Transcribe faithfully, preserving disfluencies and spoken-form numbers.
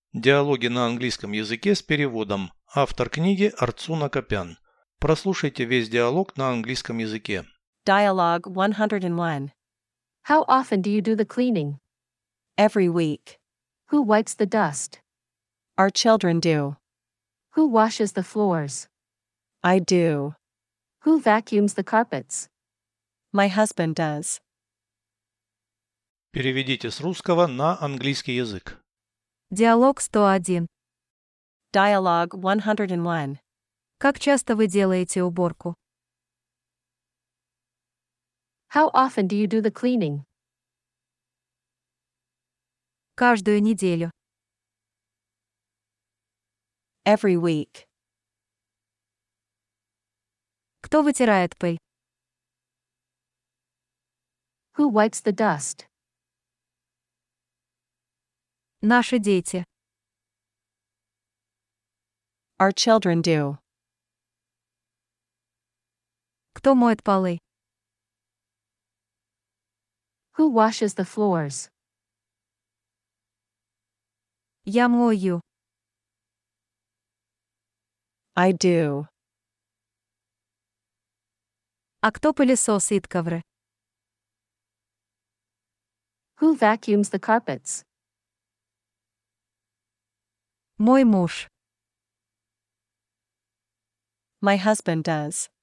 Диалоги на английском языке с переводом. Автор книги Арцуна Копян. Прослушайте весь диалог на английском языке. Dialogue one hundred one. How often do you do the cleaning? Every week. Who wipes the dust? Our children do. Who washes the floors? I do. Who vacuums the carpets? My husband does. Переведите с русского на английский язык. Диалог сто один. Dialogue one hundred one. Как часто вы делаете уборку? How often do you do the cleaning? Каждую неделю. Every week. Кто вытирает пыль? Who wipes the dust? Наши дети. Our children do. Кто моет полы? Who washes the floors? Я мою. I do. А кто пылесосит ковры? Who vacuums the carpets? Мой муж. My husband does.